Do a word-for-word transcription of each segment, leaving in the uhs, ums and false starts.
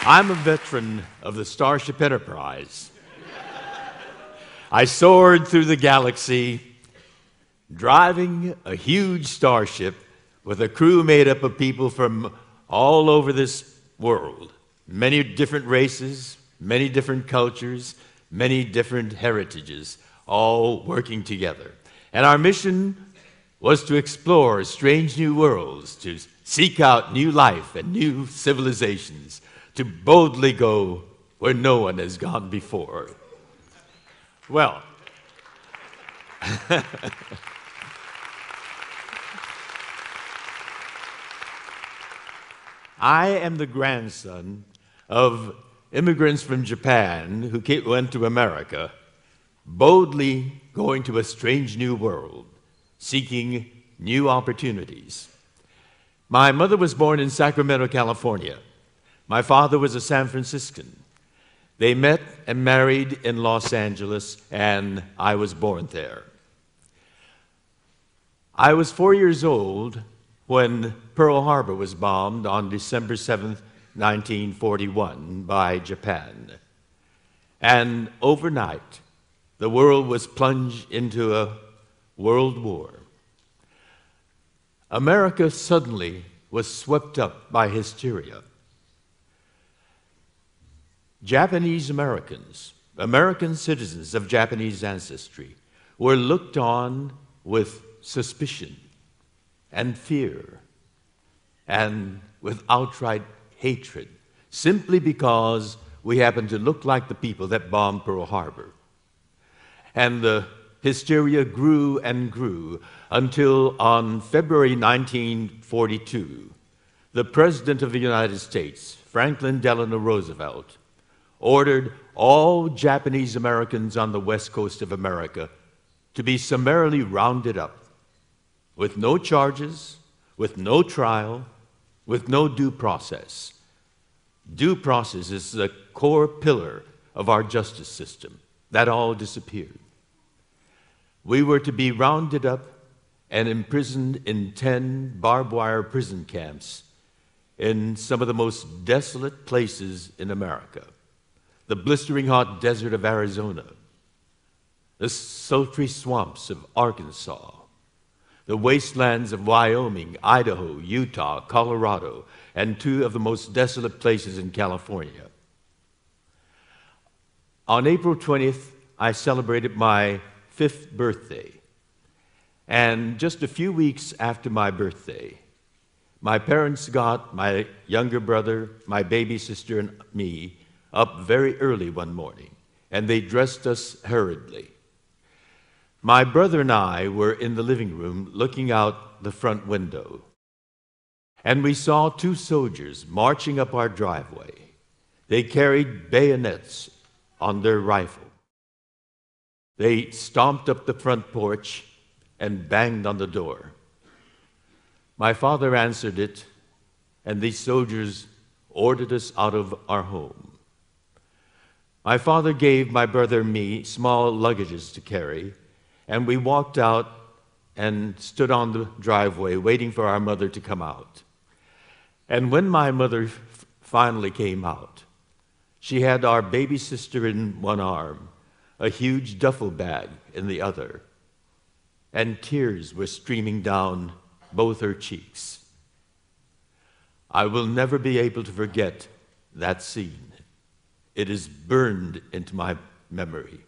I'm a veteran of the Starship Enterprise. I soared through the galaxy, driving a huge starship with a crew made up of people from all over this world. Many different races, many different cultures, many different heritages, all working together. And our mission was to explore strange new worlds, to seek out new life and new civilizations, to boldly go where no one has gone before. Well, I am the grandson of immigrants from Japan who came, went to America, boldly going to a strange new world, seeking new opportunities. My mother was born in Sacramento, California. My father was a San Franciscan. They met and married in Los Angeles, and I was born there. I was four years old when Pearl Harbor was bombed on December seventh, nineteen forty-one, by Japan. And overnight, the world was plunged into a world war. America suddenly was swept up by hysteria. Japanese Americans, American citizens of Japanese ancestry, were looked on with suspicion and fear and with outright hatred, simply because we happened to look like the people that bombed Pearl Harbor. And the hysteria grew and grew until on February nineteen forty-two, the President of the United States, Franklin Delano Roosevelt, ordered all Japanese Americans on the west coast of America to be summarily rounded up with no charges, with no trial, with no due process. Due process is the core pillar of our justice system. That all disappeared. We were to be rounded up and imprisoned in ten barbed wire prison camps in some of the most desolate places in America. The blistering hot desert of Arizona, the sultry swamps of Arkansas, the wastelands of Wyoming, Idaho, Utah, Colorado, and two of the most desolate places in California. On April twentieth, I celebrated my fifth birthday. And just a few weeks after my birthday, my parents got my younger brother, my baby sister, and me up very early one morning, and they dressed us hurriedly. My brother and I were in the living room looking out the front window, and we saw two soldiers marching up our driveway. They carried bayonets on their rifle. They stomped up the front porch and banged on the door. My father answered it, and these soldiers ordered us out of our home. My father gave my brother and me small luggages to carry, and we walked out and stood on the driveway waiting for our mother to come out. And when my mother f- finally came out, she had our baby sister in one arm, a huge duffel bag in the other, and tears were streaming down both her cheeks. I will never be able to forget that scene. It is burned into my memory.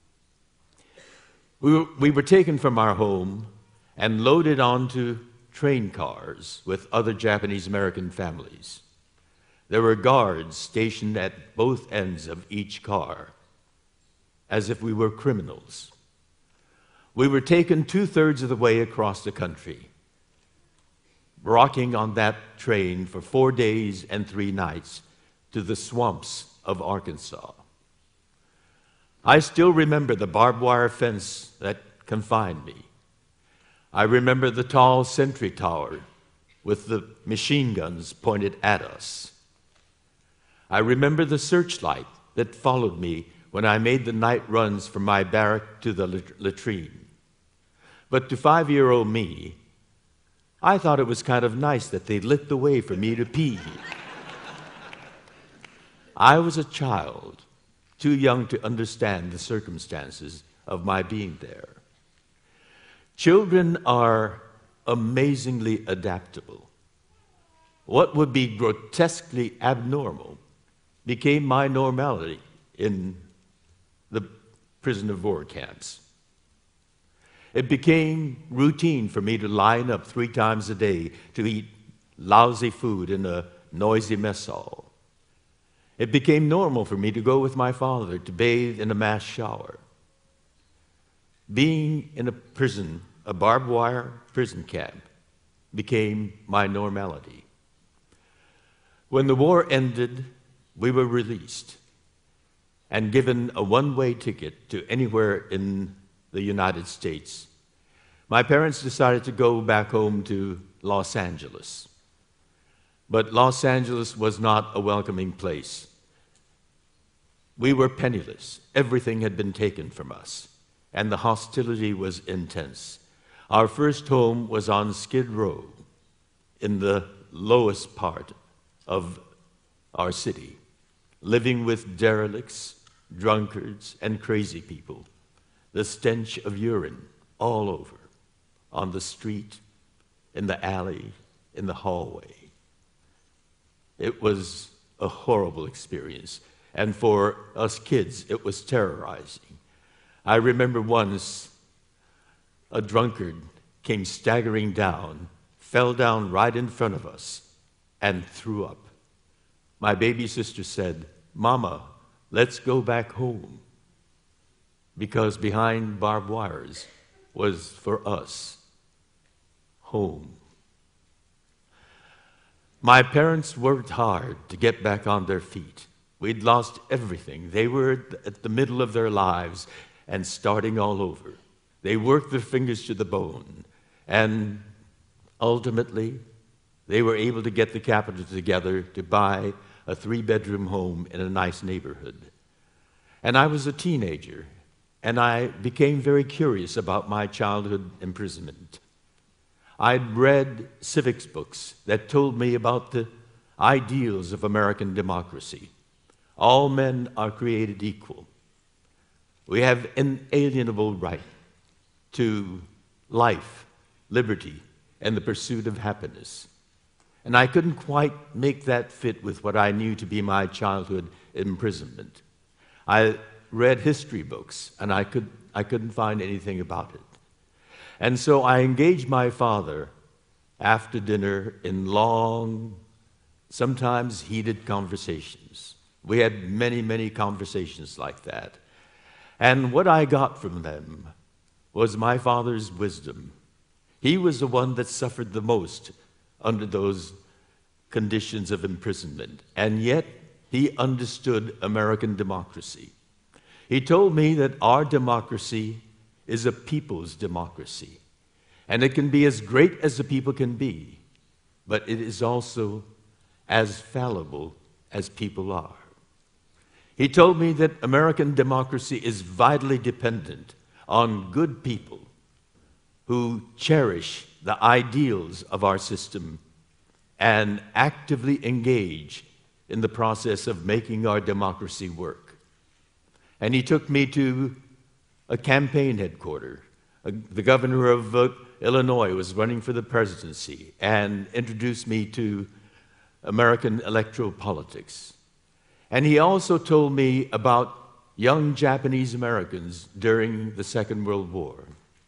We were, we were taken from our home and loaded onto train cars with other Japanese American families. There were guards stationed at both ends of each car, as if we were criminals. We were taken two-thirds of the way across the country, rocking on that train for four days and three nights to the swamps of Arkansas. I still remember the barbed wire fence that confined me. I remember the tall sentry tower with the machine guns pointed at us. I remember the searchlight that followed me when I made the night runs from my barrack to the latrine. But to five-year-old me, I thought it was kind of nice that they lit the way for me to pee. I was a child, too young to understand the circumstances of my being there. Children are amazingly adaptable. What would be grotesquely abnormal became my normality in the prisoner of war camps. It became routine for me to line up three times a day to eat lousy food in a noisy mess hall. It became normal for me to go with my father to bathe in a mass shower. Being in a prison, a barbed wire prison camp, became my normality. When the war ended, we were released and given a one-way ticket to anywhere in the United States. My parents decided to go back home to Los Angeles. But Los Angeles was not a welcoming place. We were penniless. Everything had been taken from us, and the hostility was intense. Our first home was on Skid Row, in the lowest part of our city, living with derelicts, drunkards, and crazy people. The stench of urine all over, on the street, in the alley, in the hallway. It was a horrible experience, and for us kids, it was terrorizing. I remember once a drunkard came staggering down, fell down right in front of us, and threw up. My baby sister said, "Mama, let's go back home," because behind barbed wires was, for us, home. My parents worked hard to get back on their feet. We'd lost everything. They were at the middle of their lives and starting all over. They worked their fingers to the bone, and ultimately, they were able to get the capital together to buy a three-bedroom home in a nice neighborhood. And I was a teenager, and I became very curious about my childhood imprisonment. I'd read civics books that told me about the ideals of American democracy. All men are created equal. We have inalienable right to life, liberty, and the pursuit of happiness. And I couldn't quite make that fit with what I knew to be my childhood imprisonment. I read history books, and I, could, I couldn't find anything about it. And so I engaged my father after dinner in long, sometimes heated conversations. We had many, many conversations like that. And what I got from them was my father's wisdom. He was the one that suffered the most under those conditions of imprisonment, and yet he understood American democracy. He told me that our democracy is a people's democracy, and it can be as great as the people can be, but it is also as fallible as people are. He told me that American democracy is vitally dependent on good people who cherish the ideals of our system and actively engage in the process of making our democracy work. And he took me to a campaign headquarters. Uh, the governor of uh, Illinois was running for the presidency and introduced me to American electoral politics. And he also told me about young Japanese Americans during the Second World War.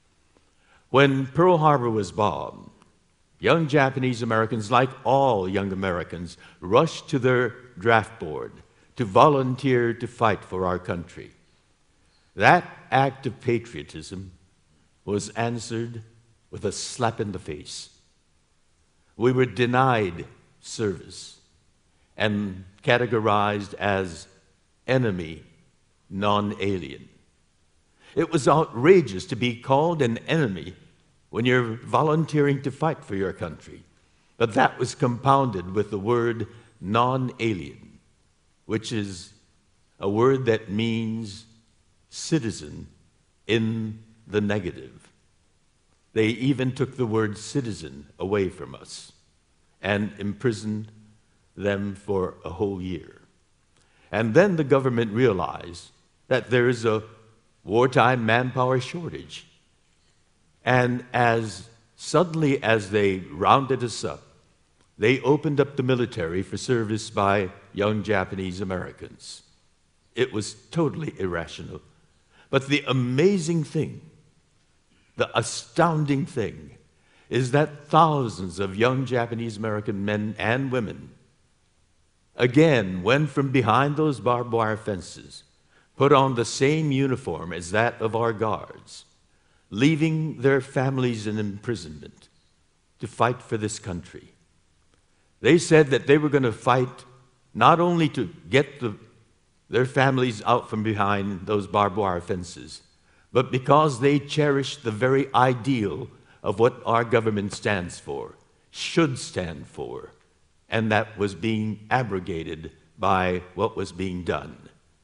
When Pearl Harbor was bombed, young Japanese Americans, like all young Americans, rushed to their draft board to volunteer to fight for our country. That act of patriotism was answered with a slap in the face. We were denied service and categorized as enemy, non-alien. It was outrageous to be called an enemy when you're volunteering to fight for your country. But that was compounded with the word non-alien, which is a word that means citizen in the negative. They even took the word citizen away from us and imprisoned them for a whole year. And then the government realized that there is a wartime manpower shortage. And as suddenly as they rounded us up, they opened up the military for service by young Japanese Americans. It was totally irrational. But the amazing thing, the astounding thing, is that thousands of young Japanese American men and women again went from behind those barbed wire fences, put on the same uniform as that of our guards, leaving their families in imprisonment to fight for this country. They said that they were going to fight not only to get the, their families out from behind those barbed wire fences, but because they cherished the very ideal of what our government stands for, should stand for, and that was being abrogated by what was being done.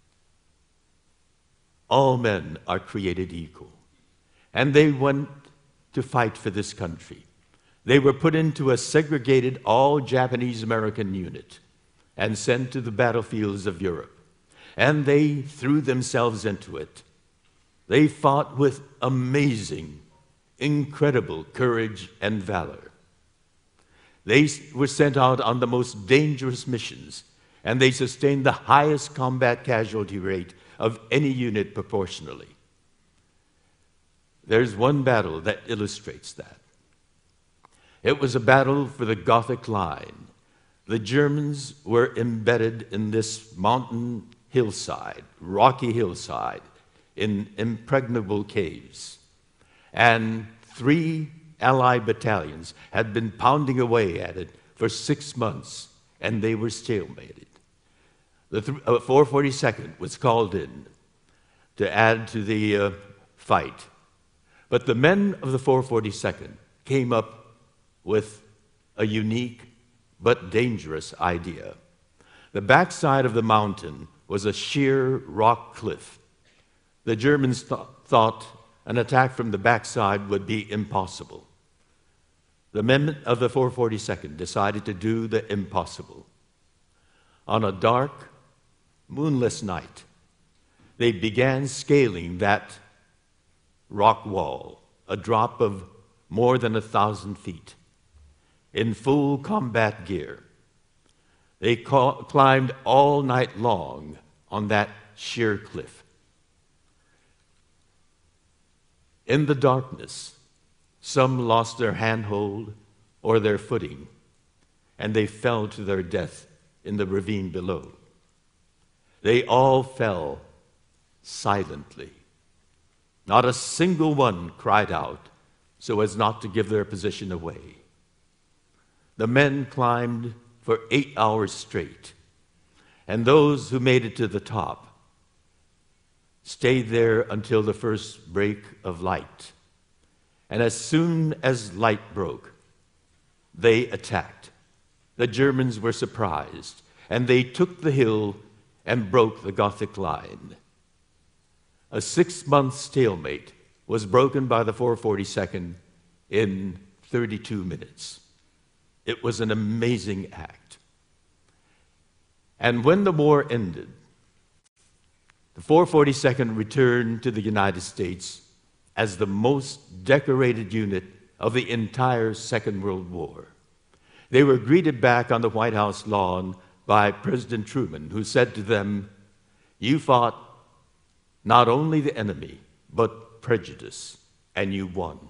All men are created equal. And they went to fight for this country. They were put into a segregated all-Japanese American unit and sent to the battlefields of Europe. And they threw themselves into it. They fought with amazing, incredible courage and valor. They were sent out on the most dangerous missions, and they sustained the highest combat casualty rate of any unit proportionally. There's one battle that illustrates that. It was a battle for the Gothic Line. The Germans were embedded in this mountain hillside, rocky hillside, in impregnable caves. And three Allied battalions had been pounding away at it for six months, and they were stalemated. The th- uh, four forty-second was called in to add to the uh, fight. But the men of the four forty-second came up with a unique but dangerous idea. The backside of the mountain was a sheer rock cliff. The Germans th- thought an attack from the backside would be impossible. The men of the four forty-second decided to do the impossible. On a dark, moonless night, they began scaling that rock wall, a drop of more than a thousand feet, in full combat gear. They ca- climbed all night long on that sheer cliff. In the darkness, some lost their handhold or their footing, and they fell to their death in the ravine below. They all fell silently. Not a single one cried out so as not to give their position away. The men climbed for eight hours straight, and those who made it to the top stayed there until the first break of light. And as soon as light broke, they attacked. The Germans were surprised, and they took the hill and broke the Gothic Line. A six-month stalemate was broken by the four forty-second in thirty-two minutes. It was an amazing act. And when the war ended, the four forty-second returned to the United States as the most decorated unit of the entire Second World War. They were greeted back on the White House lawn by President Truman, who said to them, "You fought not only the enemy, but prejudice, and you won."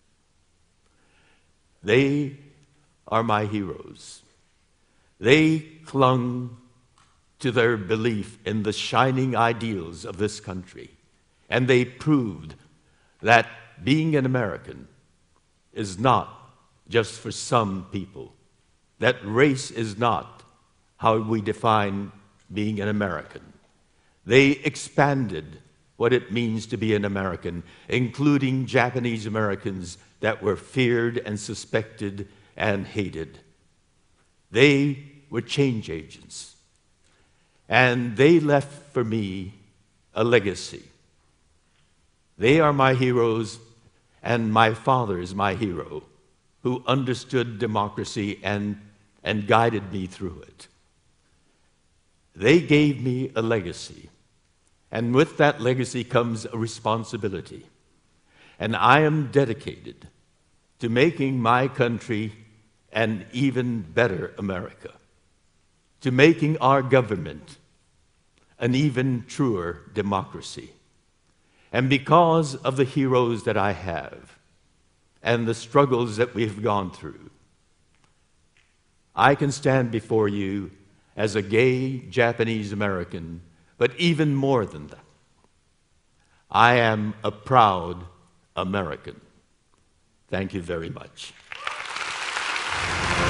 They are my heroes. They clung to their belief in the shining ideals of this country, and they proved that being an American is not just for some people, that race is not how we define being an American. They expanded what it means to be an American, including Japanese Americans that were feared and suspected and hated. They were change agents, and they left for me a legacy. They are my heroes, and my father is my hero, who understood democracy and, and guided me through it. They gave me a legacy, and with that legacy comes a responsibility. And I am dedicated to making my country an even better America, to making our government an even truer democracy. And because of the heroes that I have and the struggles that we've gone through, I can stand before you as a gay Japanese American, but even more than that, I am a proud American. Thank you very much.